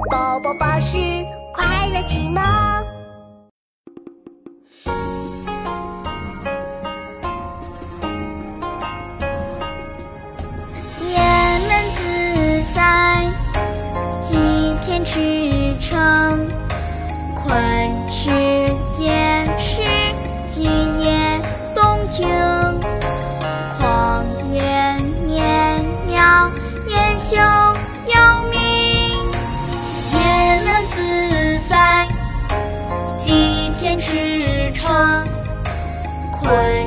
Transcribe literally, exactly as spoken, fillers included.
宝宝巴士快乐启蒙。 雁门自在，鸡田驰骋。宽世间事，君也动听。况远绵渺，雁修遥明。雁门自在，鸡田驰骋。宽